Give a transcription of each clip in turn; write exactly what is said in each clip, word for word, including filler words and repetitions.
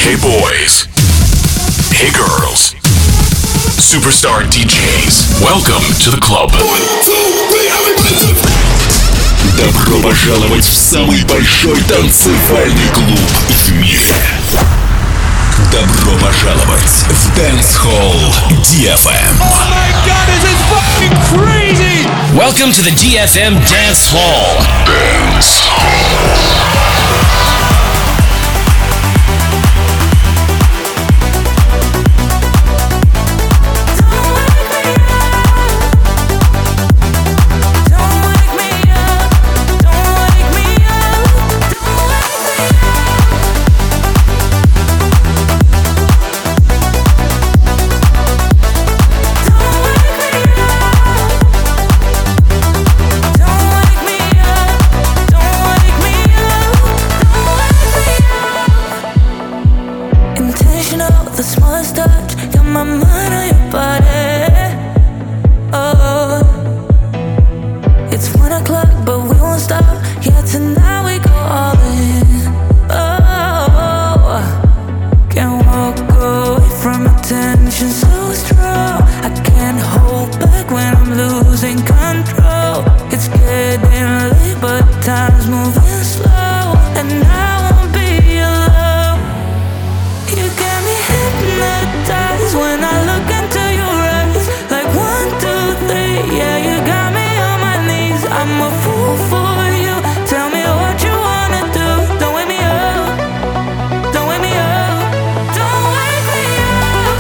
Hey boys. Hey girls. Superstar ди джейс. Welcome to the club. Добро пожаловать в самый большой танцевальный клуб в мире. Добро пожаловать в Dance Hall ди эф эм. Oh my god, this is fucking crazy! Welcome to the ди эф эм Dance Hall. Dance Hall. The smallest touch, got my mind on your body. Oh, it's one o'clock, but we won't stop. Yeah, tonight we go all in. Oh, can't walk away from attention so strong. I can't hold back when I'm losing control. It's getting late, but time's moving slow, and I won't be alone. You got me hypnotized when I look into your eyes. Like one, two, three, yeah, you got me on my knees. I'm a fool for you. Tell me what you wanna do. Don't wake me up. Don't wake me up. Don't wake me up.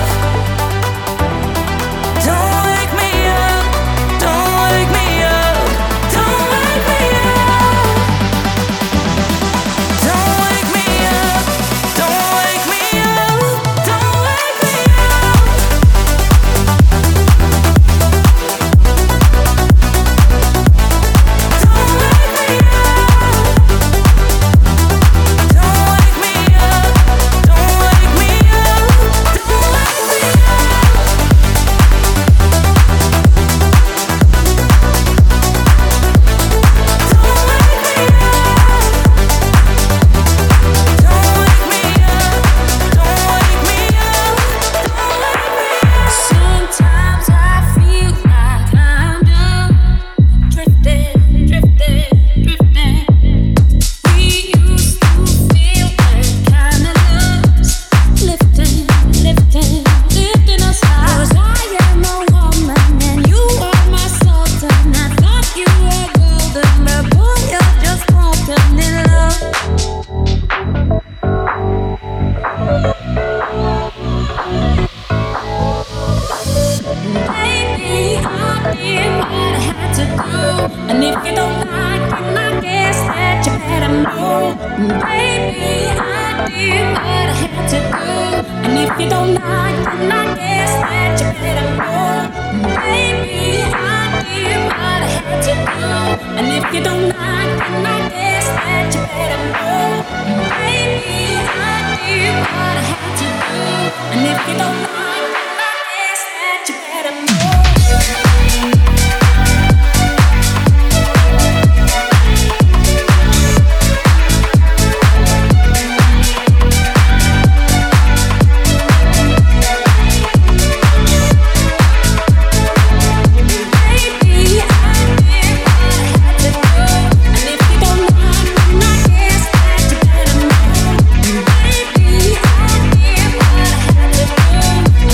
Don't wake me up. Don't wake me up. Don't wake me up. Don't wake me up. Don't wake me up. Don't wake me up. Sometimes I feel like I'm done, drifting, drifting, drifting. We used to feel that kind of love, lifting, lifting, lifting us high. 'Cause I am a woman and you are my sultan. I thought you were golden, but boy, you're just broken in love. Baby, I did what I had to do, and if you don't like it, I guess that you better know. Baby, I did what I had to do, and if you don't like it, I guess that you better know. Baby, I did what I had to do, and if you don't like it, I guess that you better know. Baby, I did what I had to do, and if you don't like it, I guess that you better know. Baby, I did what I had to do, and if you don't like it, I guess that you better know. Baby, I did what I had to do,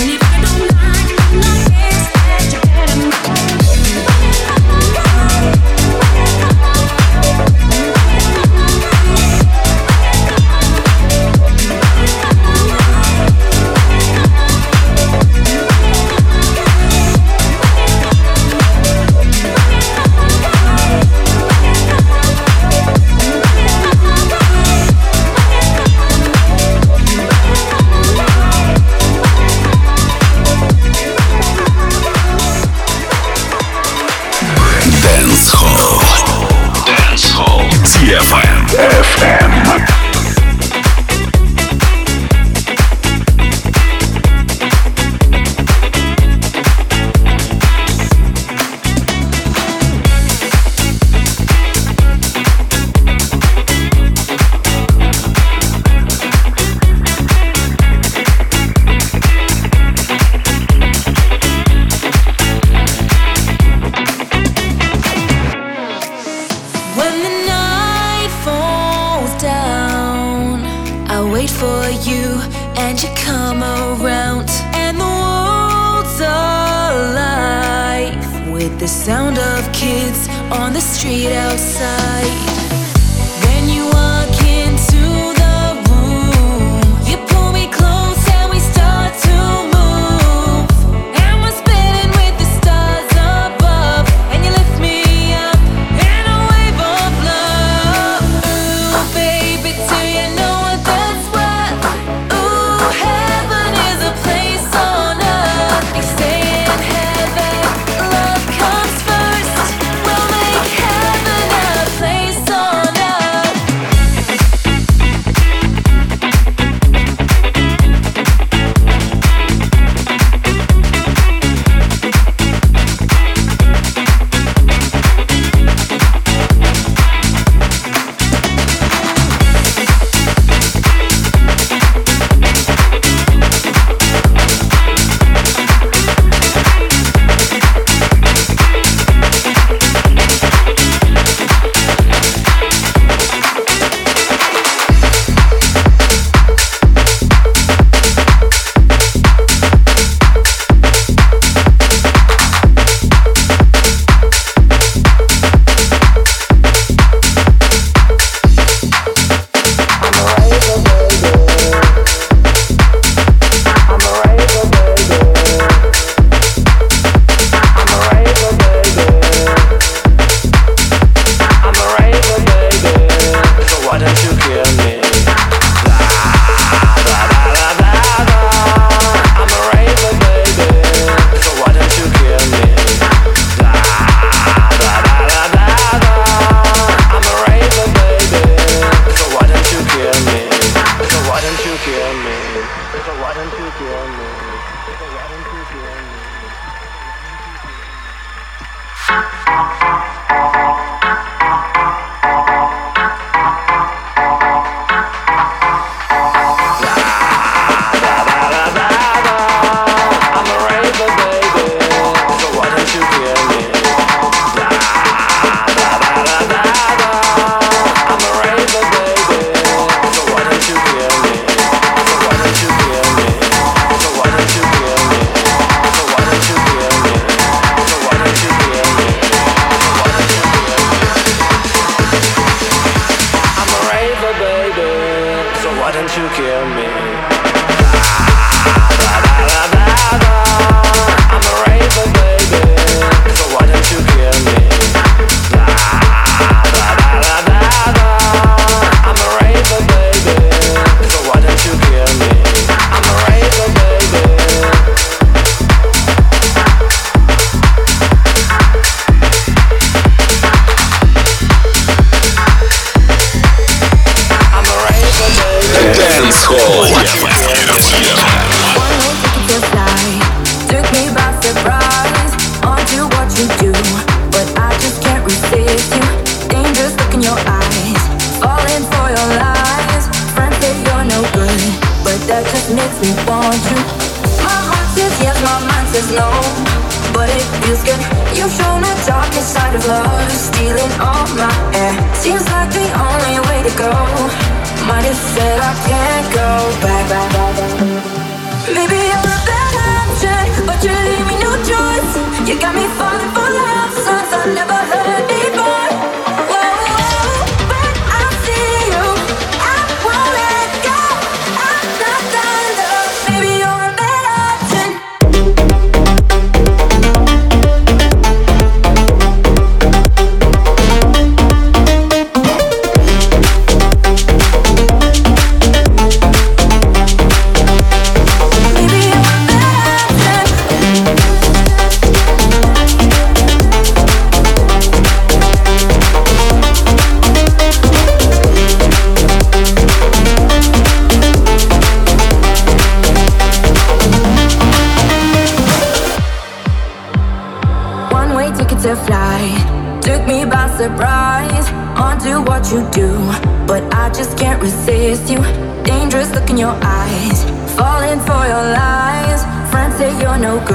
for you, and you come around, and the world's alive with the sound of kids on the street outside. Then you walk into the room, you pull me close and we start to move, and we're spinning with the stars above, and you lift me up in a wave of love. Ooh, baby, do you know what that's worth? Ooh, heaven is a place on earth. They say in heaven, love comes first. We'll make heaven a place on earth.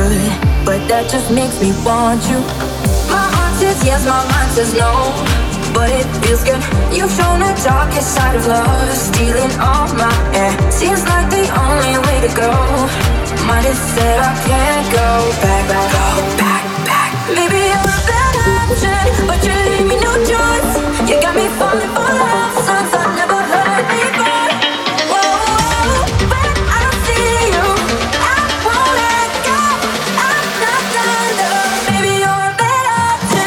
Makes me want you. My heart says yes, my mind says no, but it feels good. You've shown the darkest side of love, stealing all my air. Seems like the only way to go. Might have said I can't go back, back, go back, back. Maybe you're a better option, but you leave me no choice. You got me falling for love songs I never heard before. Whoa, whoa, but I don't see you. I won't let go. I'm not done, though. Maybe you're a better option.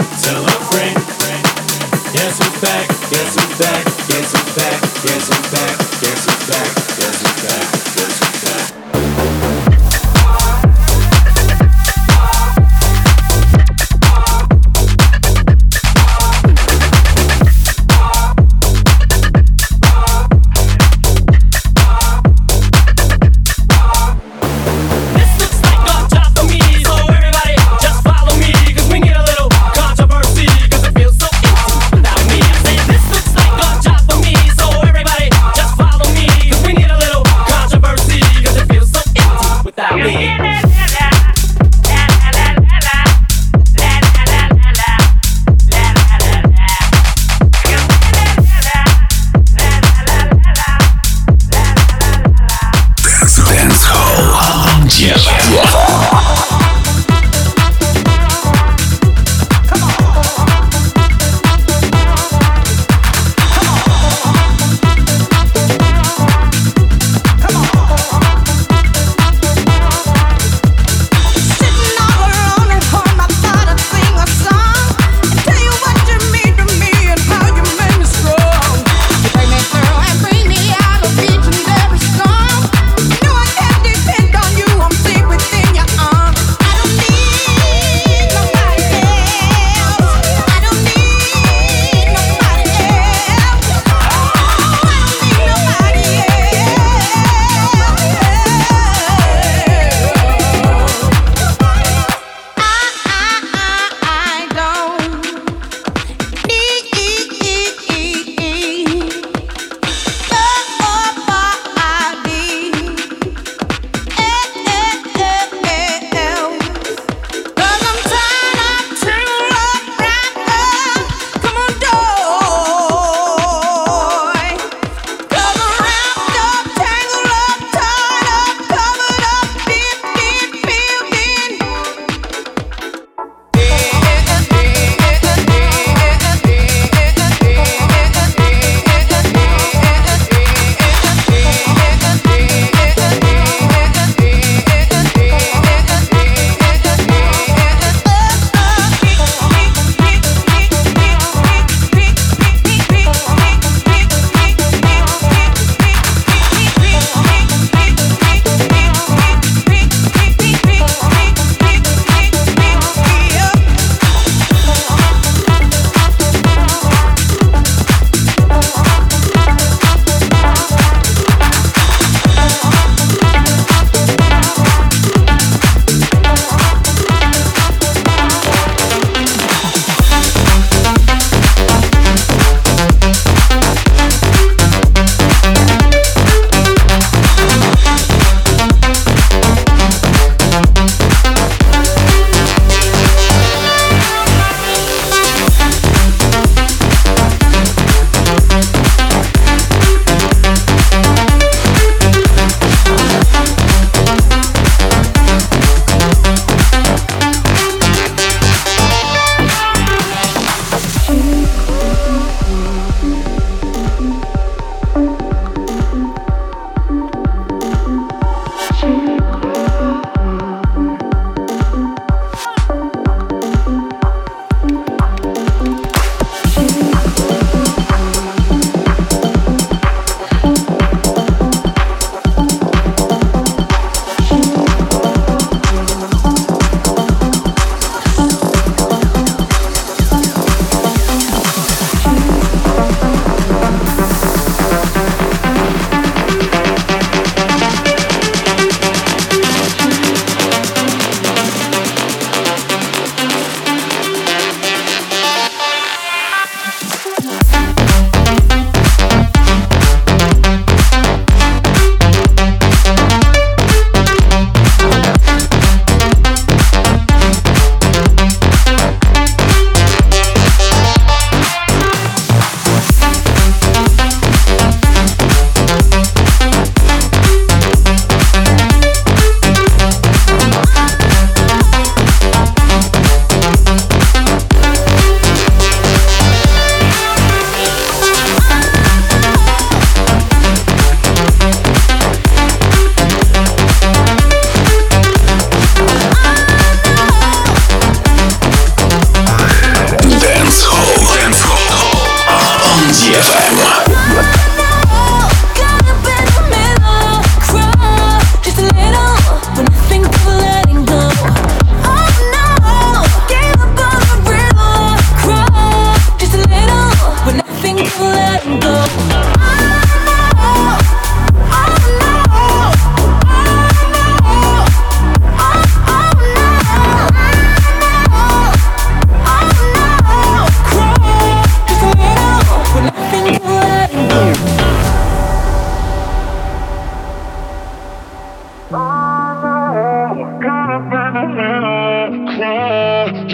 Guess who's back? Guess who's back? Guess who's back? Guess who's back?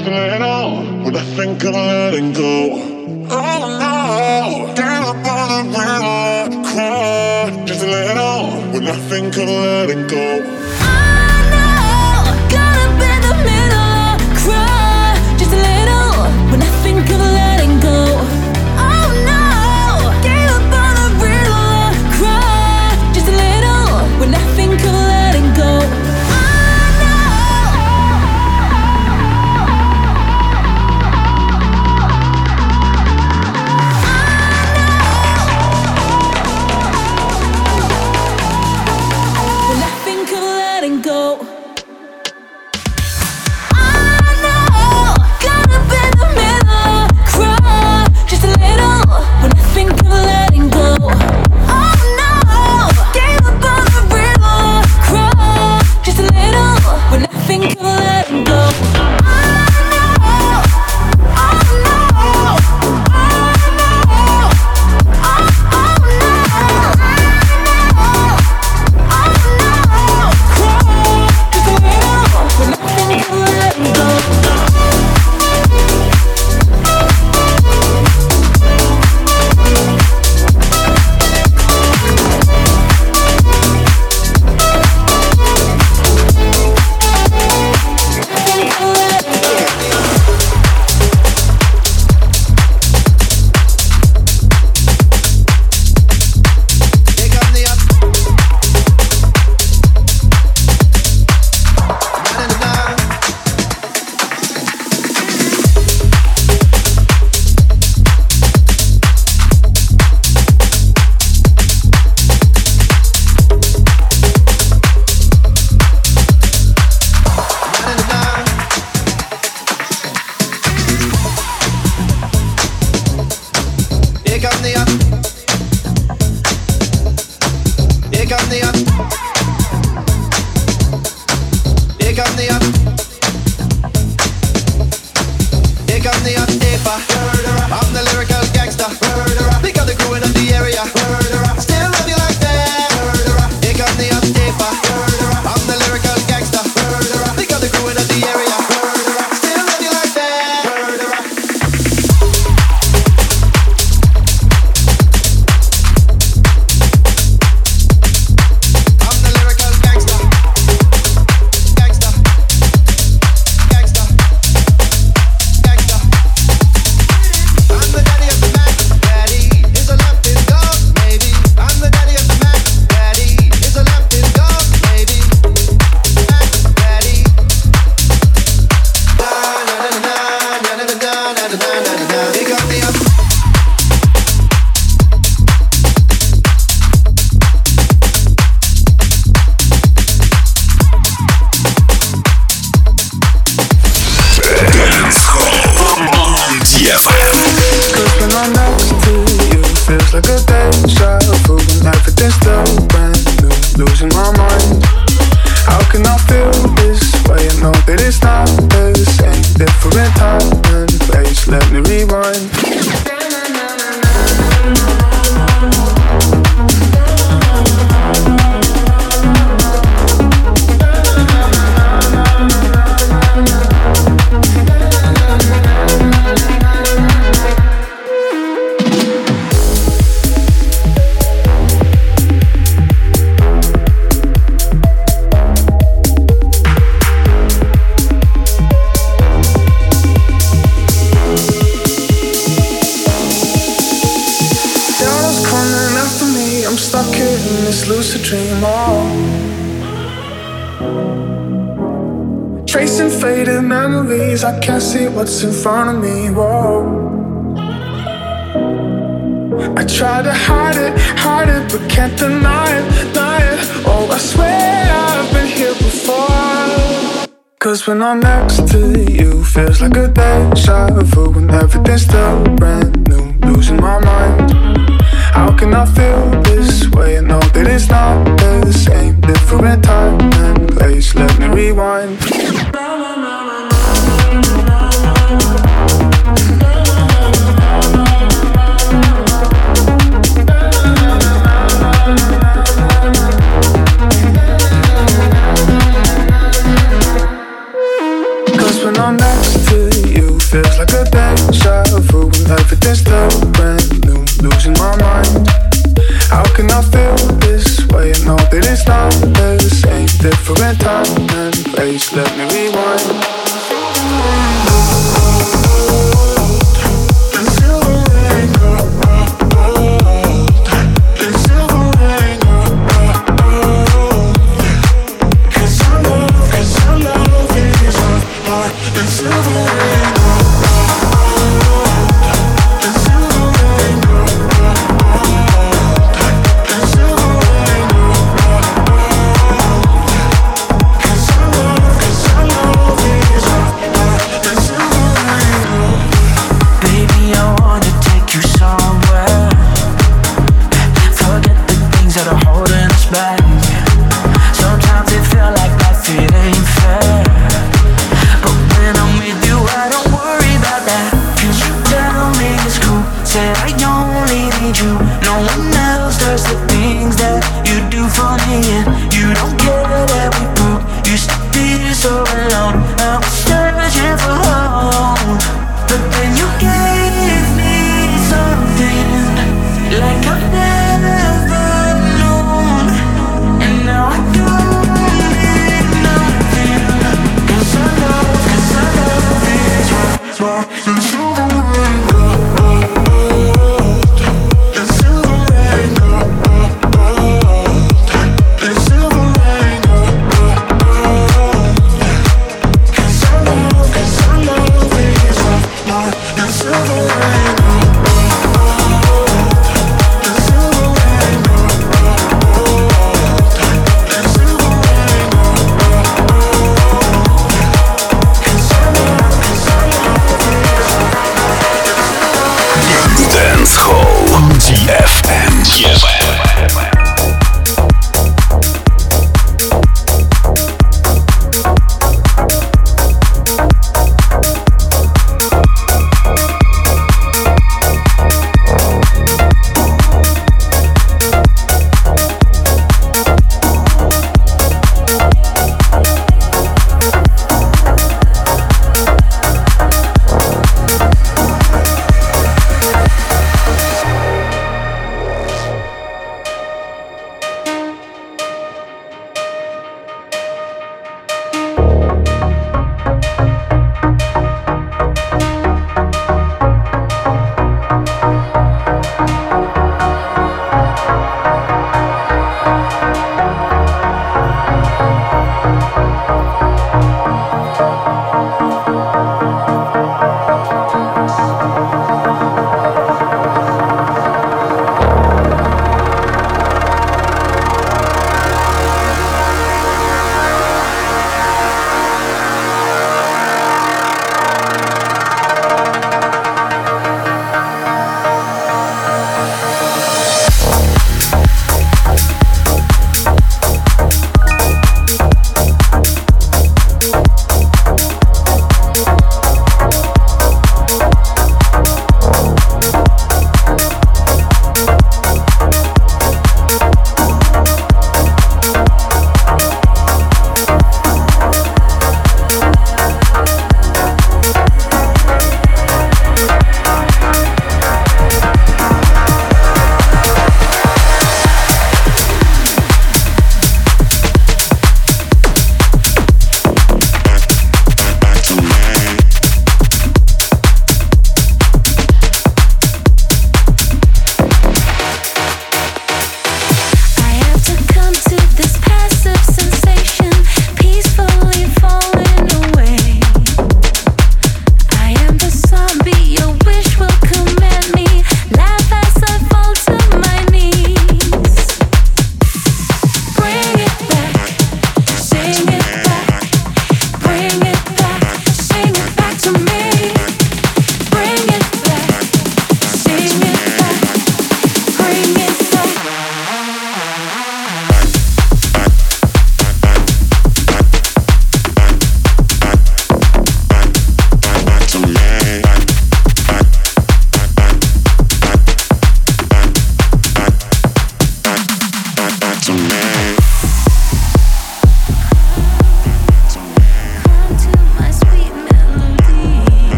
just let on when I think of letting go. Oh no, get up on the river, cry, just let on when I think of letting go. I can't see what's in front of me, whoa. I try to hide it, hide it, but can't deny it, deny it. Oh, I swear I've been here before. Cause when I'm next to you, feels like a deja vu. When everything's still brand new, losing my mind. How can I feel this way? I know that it's not the same. Different time and place, let me rewind. Cause when I'm next to you, deja vu when everything's still brand new, losing my mind. How can I feel this way? I know that it's not the same, different time and place. Let me rewind.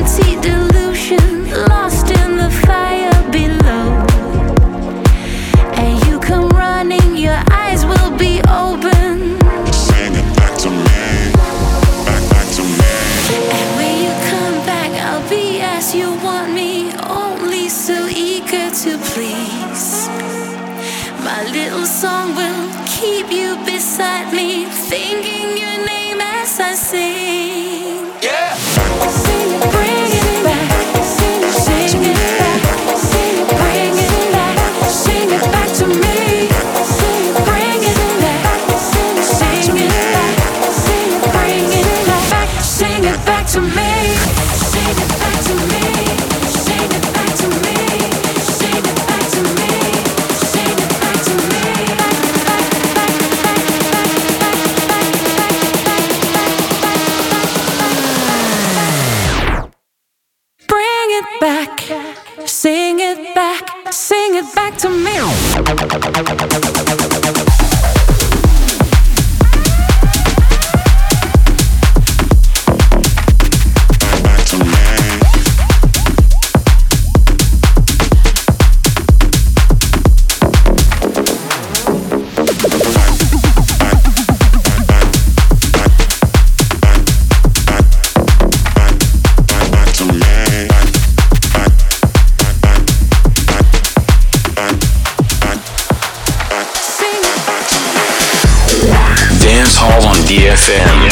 empty delusion, lost in the fire below. And you come running, your eyes will be open. Sing it back to me, back, back to me. And when you come back, I'll be as you want me, only so eager to please. My little song will keep you beside me, thinking your name as I sing. Yeah. Sing it, bring it back. Sing it, sing it back. Sing it, bring it back. Sing it back to me. Sing it, bring it back. Sing it, sing it back. Sing it, bring it back. Sing it back to me. Sing it back to me. Sing it back to me. Sing it back to me. Sing it back to me. Bring it back. Sing it back. Sing it back to me. Dance Hall on D F M.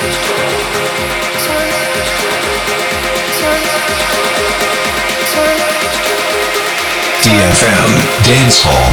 ди эф эм Dance Hall.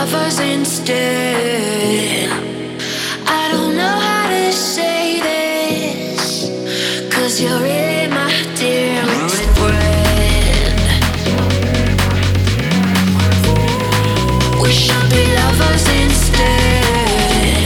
lovers instead. I don't know how to say this, 'cause you're really my dearest friend. We should be lovers instead,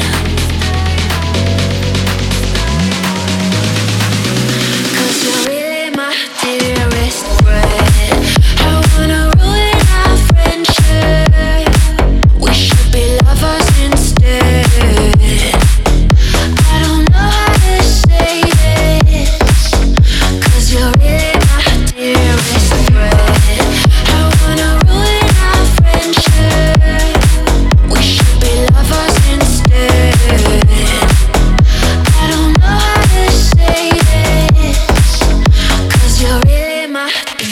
'cause you're really my dearest friend. I wanna ruin our friendship. We should be lovers instead. I don't know how to say this, 'cause you're really my dearest friend. I wanna ruin our friendship. We should be lovers instead. I don't know how to say this, 'cause you're really my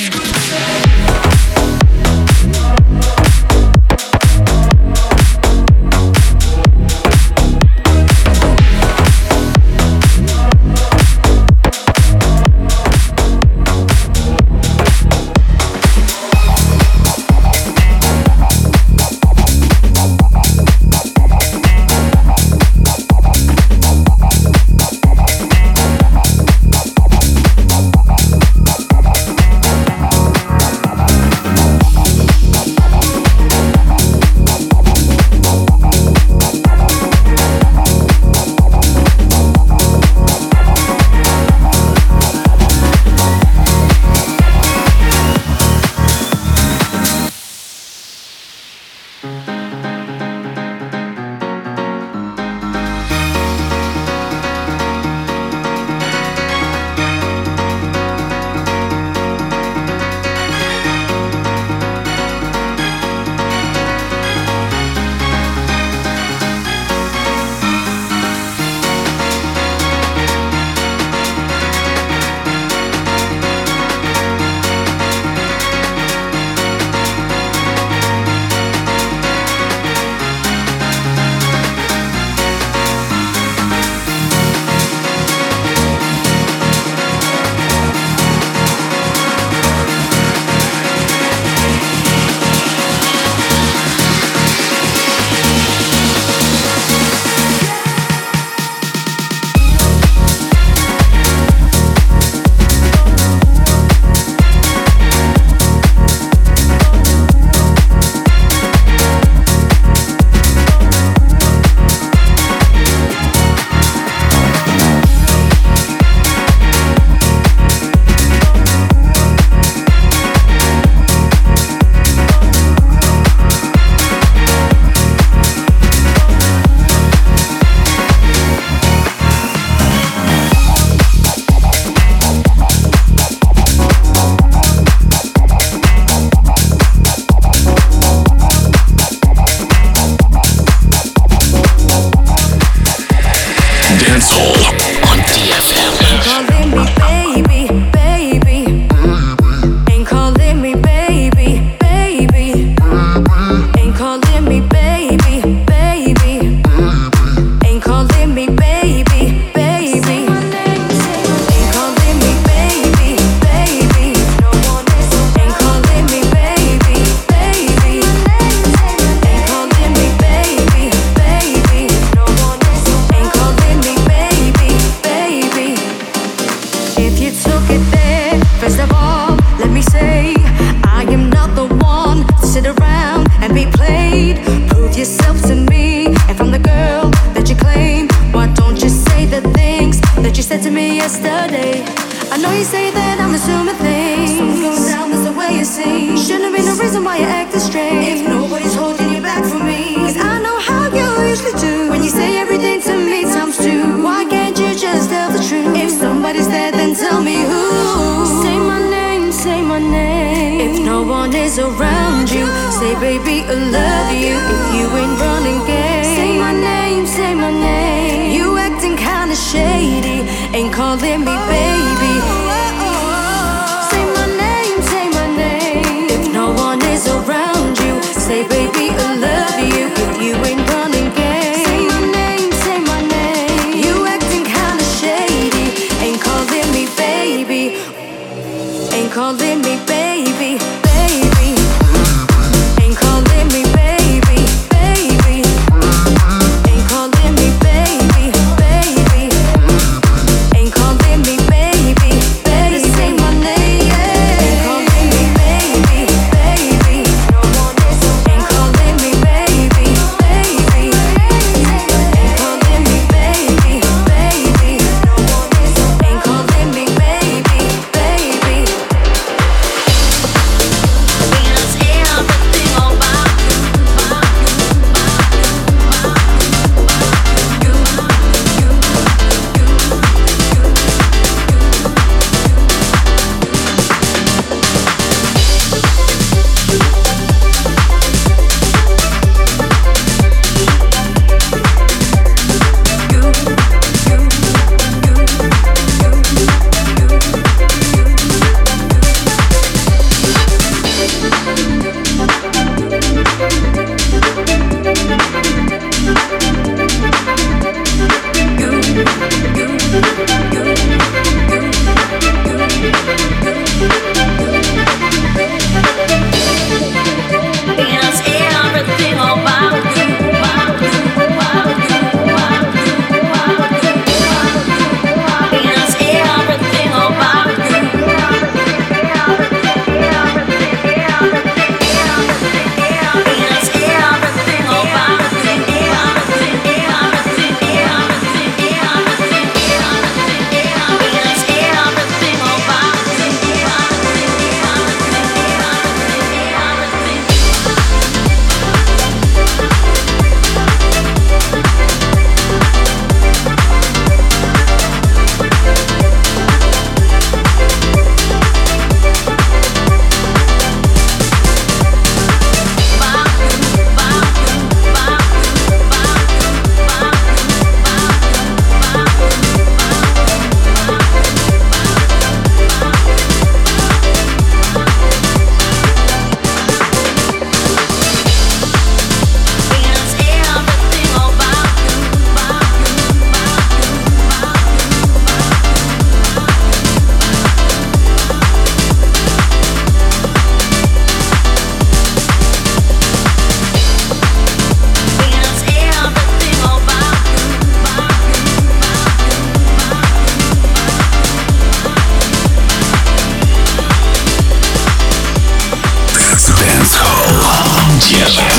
calling me baby, baby. Ain't calling me baby, baby.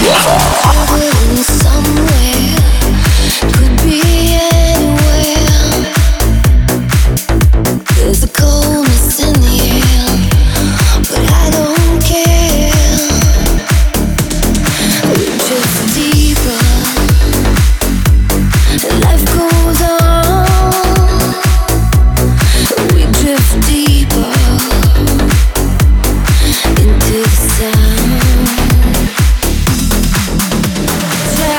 Deeper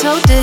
so deep.